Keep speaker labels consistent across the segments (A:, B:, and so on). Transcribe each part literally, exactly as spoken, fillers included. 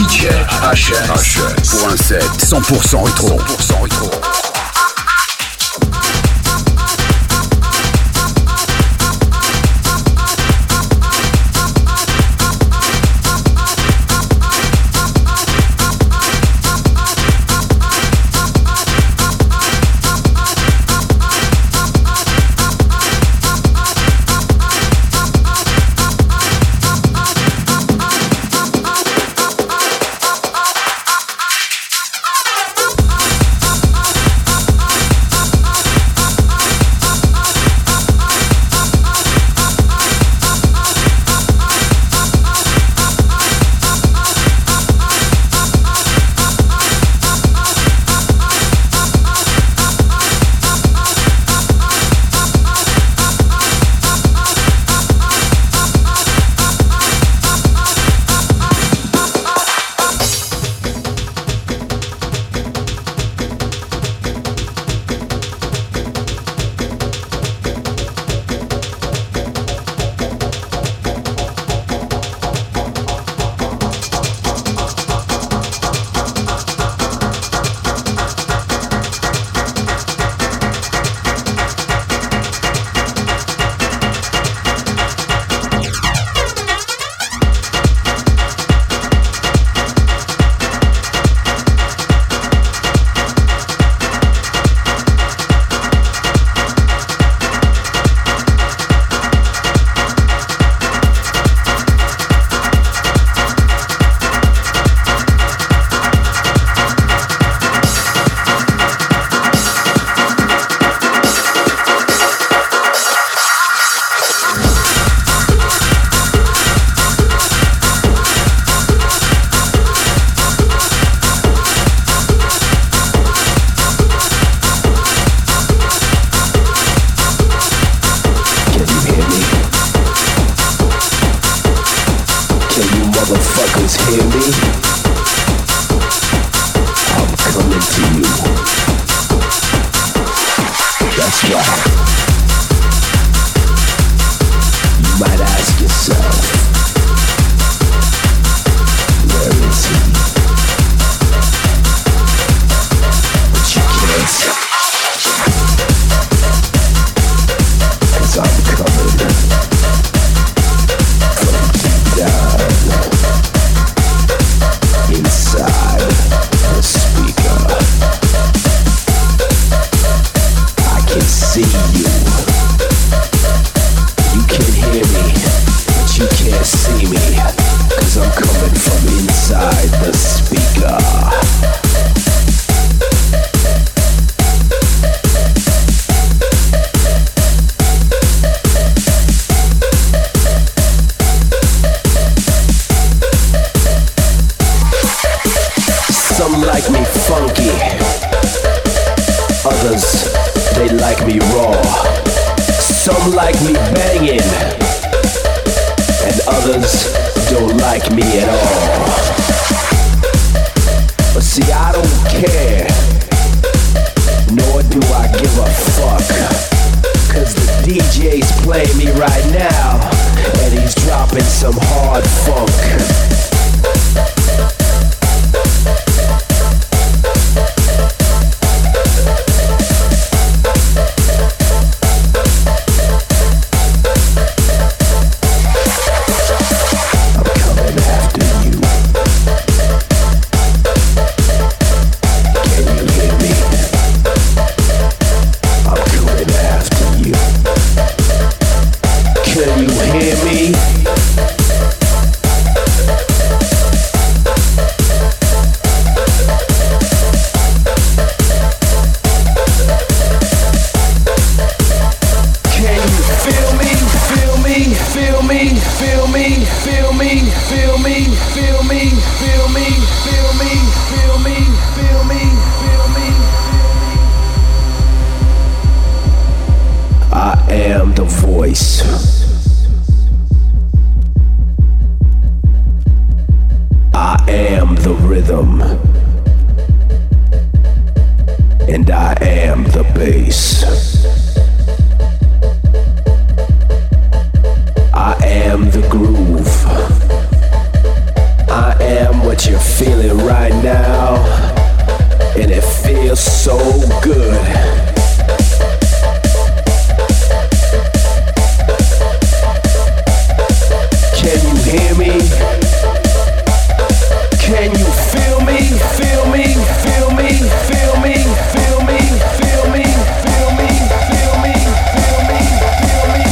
A: D J H S pour un set cent pour cent rétro. cent pour cent rétro.
B: that you're feeling right now, and it feels so good. Can you hear me? Can you feel me? Feel me? Feel me? Feel me? Feel me? Feel me? Feel me? Feel me? Feel me? Feel me?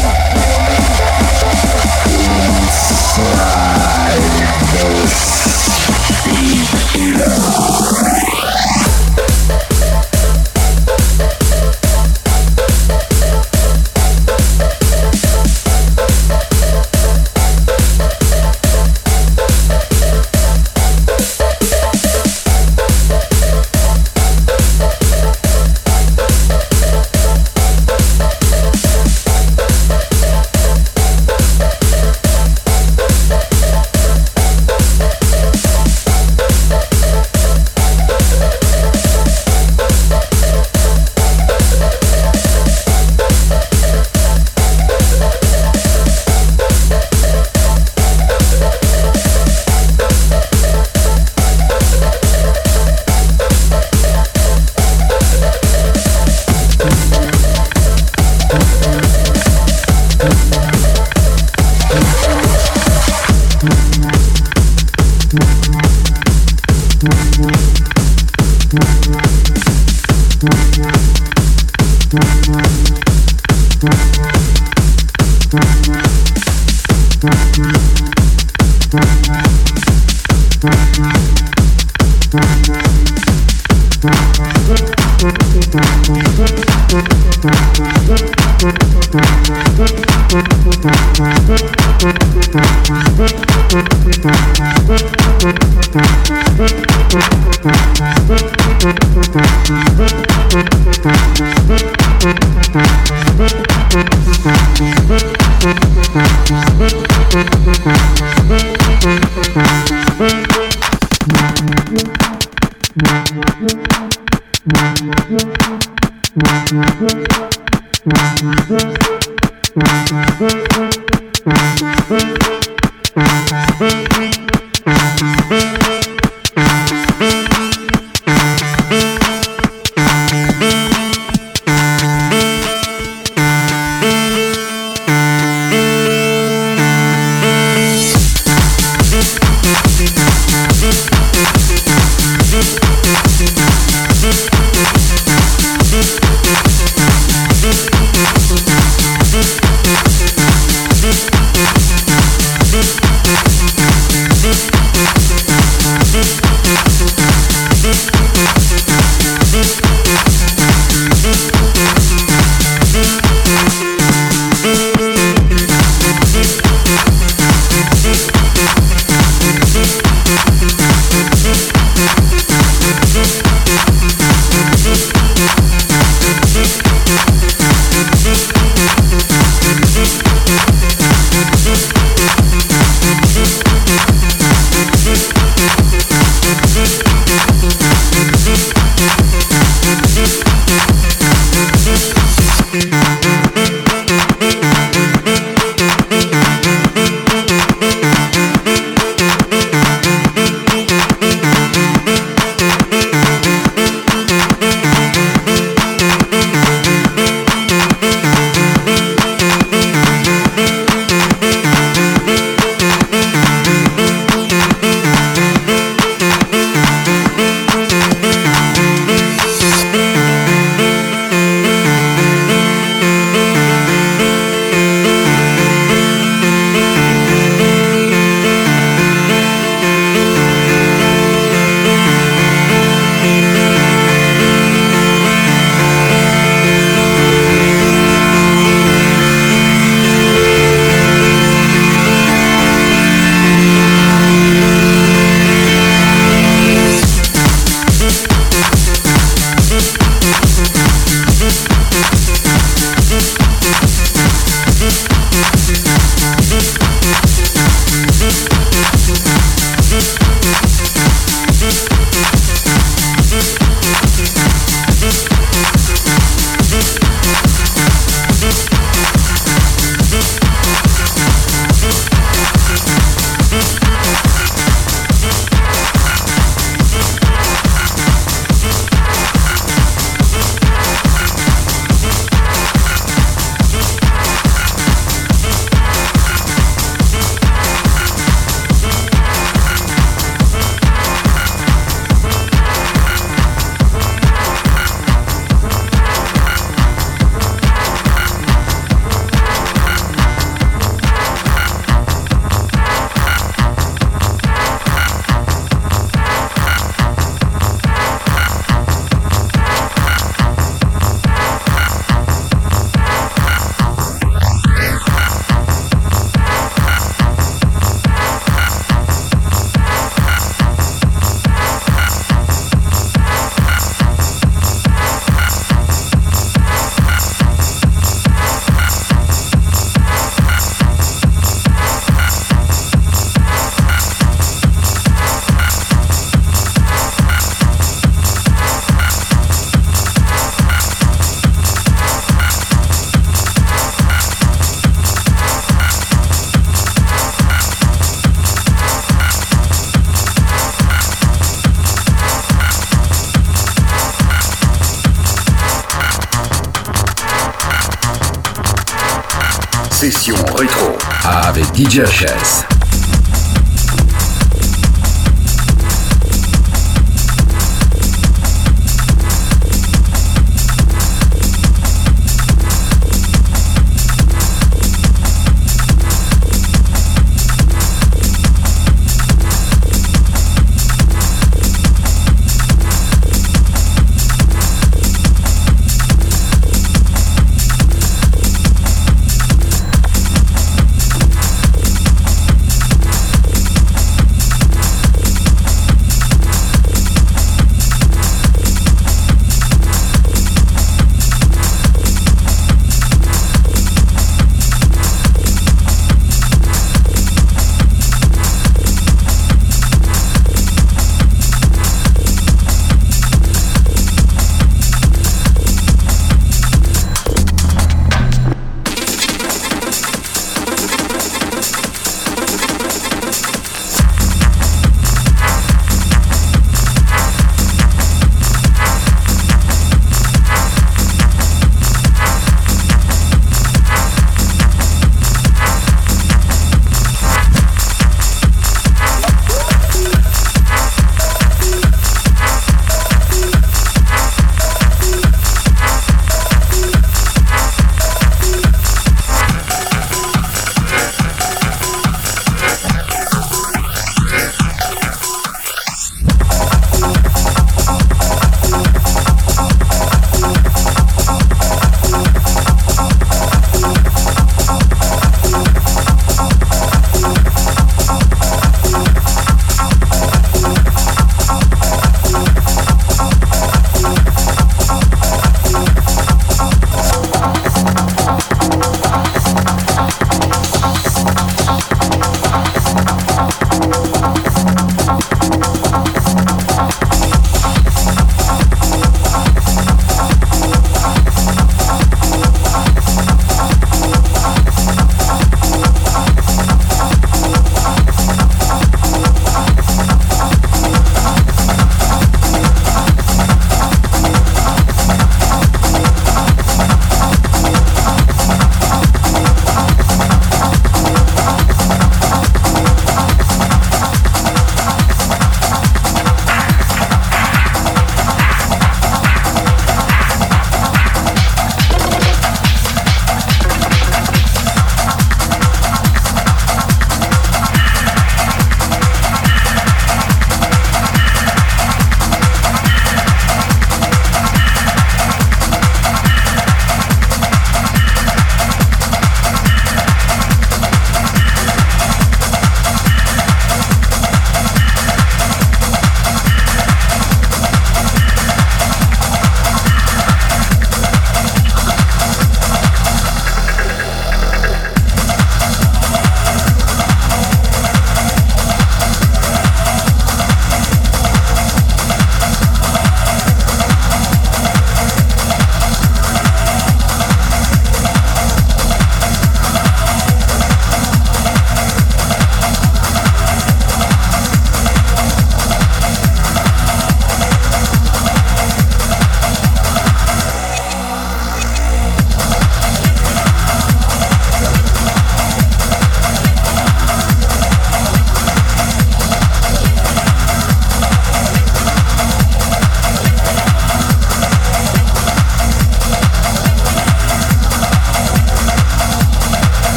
A: Session rétro avec D J H S.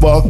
C: fuck?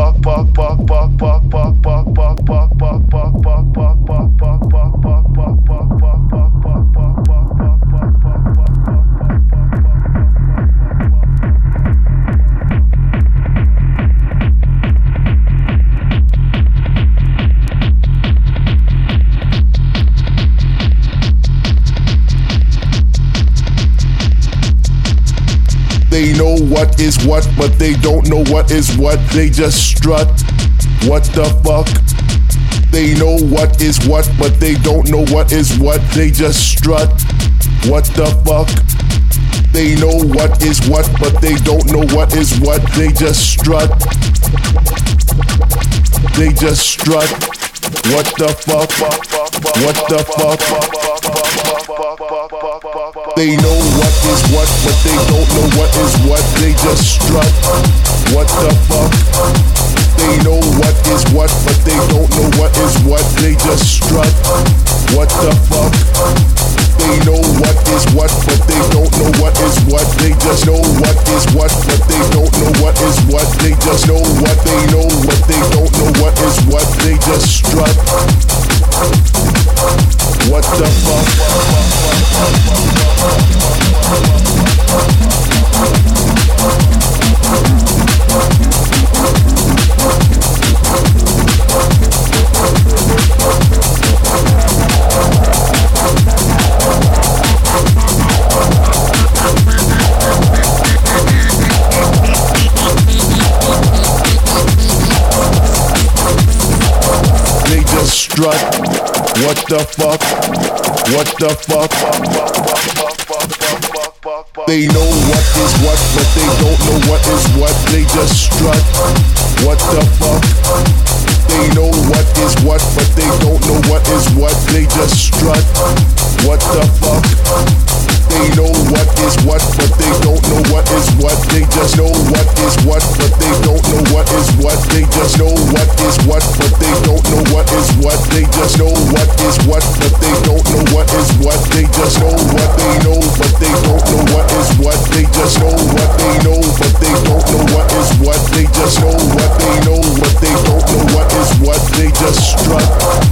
C: They know what is what, but they don't know what is what. They just strut. What the fuck? They know what is what, but they don't know what is what. They just strut. What the fuck? They know what is what, but they don't know what is what. They just strut. They just strut. What the fuck? What the fuck? They know what is what, but they don't know what is what. They just strut. What the fuck? They know what is what, but they don't know what is what. They just strut. What the fuck? They know what is what, but they don't know what is what. They just know what is what, but they don't know what is what. They just know what they know, but they don't know what is what. They just strut. What the fuck? They just strut. What the fuck? What the fuck? They know what is what, but they don't know what is what. They just strut. What the fuck? They know what is what, but they don't know what is what. They just strut. What the fuck? They know what is what, but they don't know what is what. They just know what is what, but they don't know what is what. They just know what is what, but they don't know what is what. They just know what is what, but they don't know what is what. They just know what they know, but they don't know what is what. They just know what they know, but they don't know what is what. They just know what they know, but they don't know what is what. They just strut.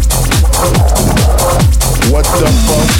C: What the fuck?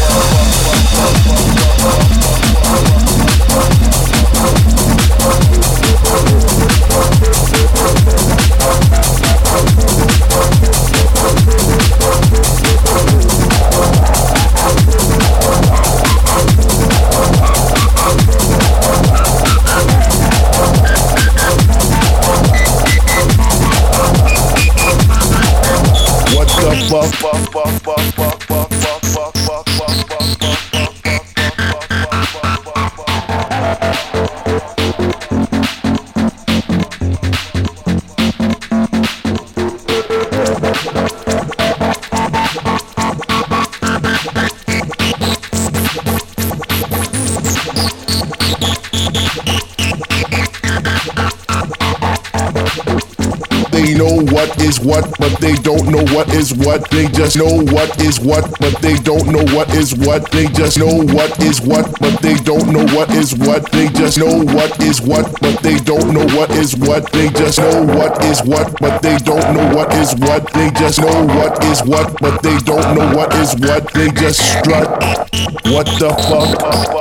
C: They know what is what, but they don't know what is what. They just know what is what, but they don't know what is what. They just know what is what, but they don't know what is what. They just know what is what, but they don't know what is what. They just know what is what, but they don't know what is what. They just know what is what, but they don't know what is what. They just strut. What the fuck?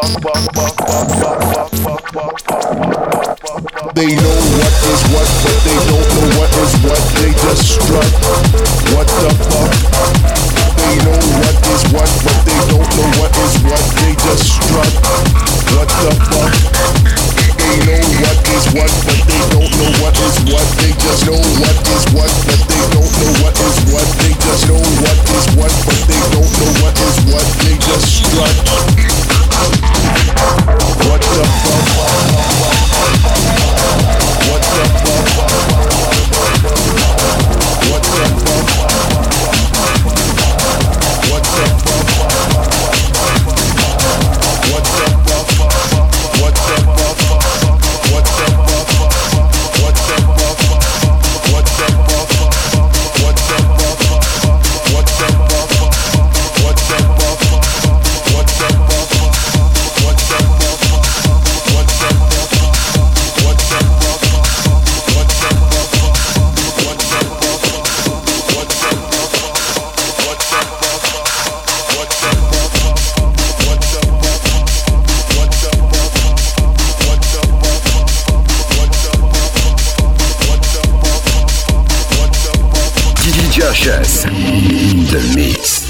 C: They know what is what, but they don't know what is what. They just strut. What the fuck? They know what is what, but they don't know what is what. They just strut. What the fuck? They know what is what, but they don't know what is what. They just know what is what, but they don't know what is what. They just know what is what, but they don't know what is what. They just strut. What the fuck? What the fuck? What the
A: H S in the mix.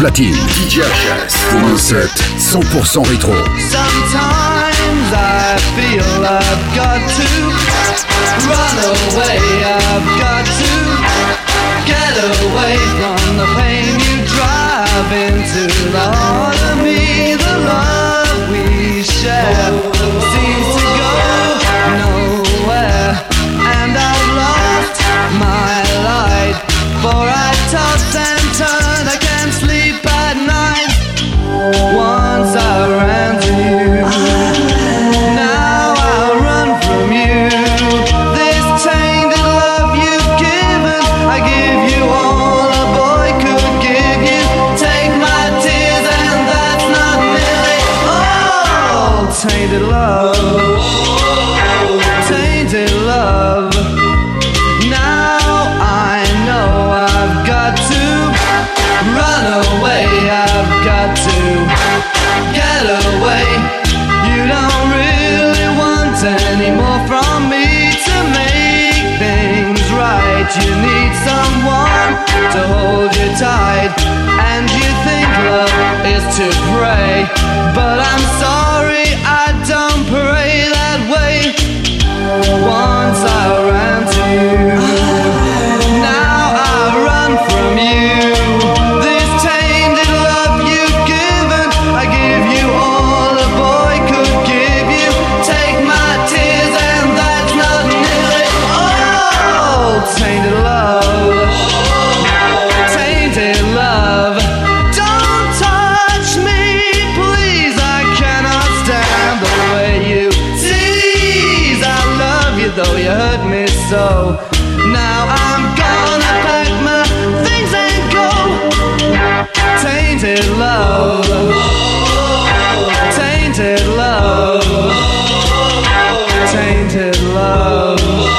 A: platine. D J H S pour un set cent pour cent rétro.
B: Sometimes I feel I've got to run away, I've got to get away from the pain you drive into the heart of me. The love we share seems to go nowhere, and I've lost my light, for I toss and turn, I can't sleep at night. Once I ran to you, now I run from you. This tainted love you've given, I give you all a boy could give you. Take my tears and that's not nearly all. Tainted love, tainted love. Now I know I've got to run away, I've got to get away. You don't really want any more from me to make things right. You need someone to hold you tight, and you think love is to pray, but I'm sorry, I don't pray that way. Once I ran to you, now I run from you. This tainted love you've given, I give you all a boy could give you. Take my tears and that's not nearly all. Tainted love, tainted love. Don't touch me, please, I cannot stand the way you tease. I love you though you hurt me so. Now I'm gonna pack my things and go. Tainted love, tainted love, tainted love,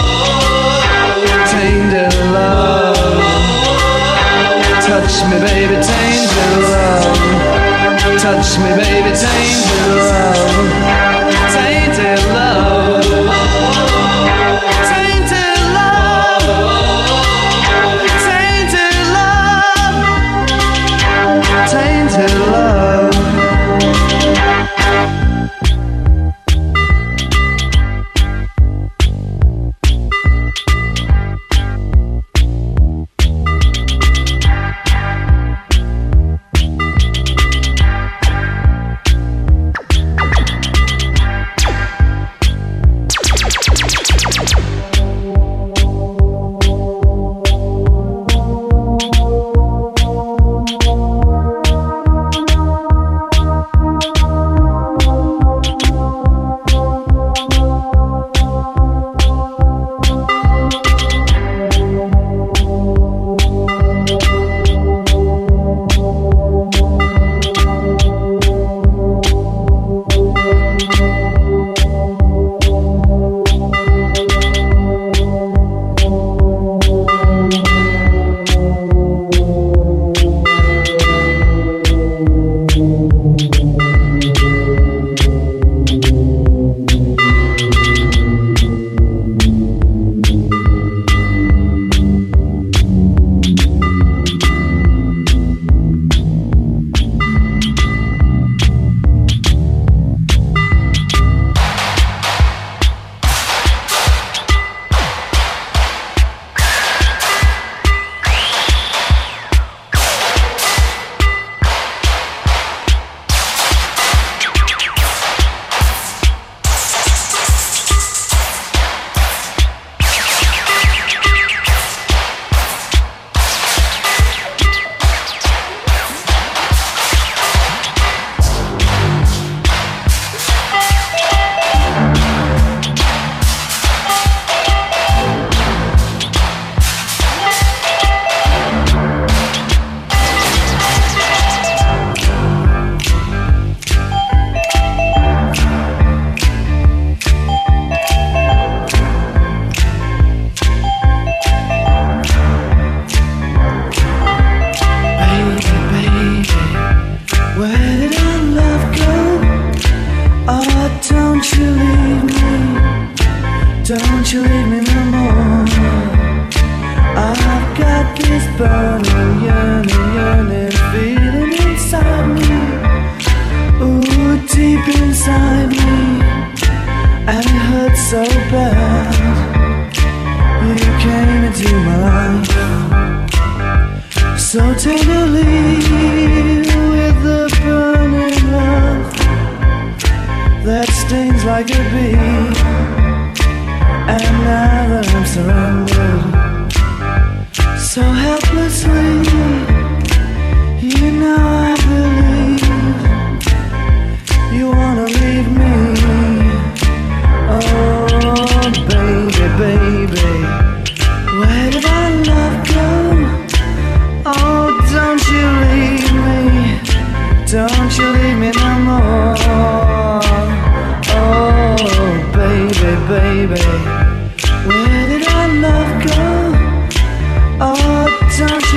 B: tainted love. Touch me baby, tainted love. Touch me baby, tainted love. Tainted love, tainted love, tainted love, tainted love. Don't you leave me no more. I've got this burning, yearning, yearning feeling so bad. You came into my life so tenderly with the burning love that stings like a bee. And now that I'm surrendered so helplessly, you know I believe you wanna leave me. Oh baby, baby, where did our love go? Oh, don't you leave me, don't you leave me no more. Oh baby, baby, where did our love go? Oh, don't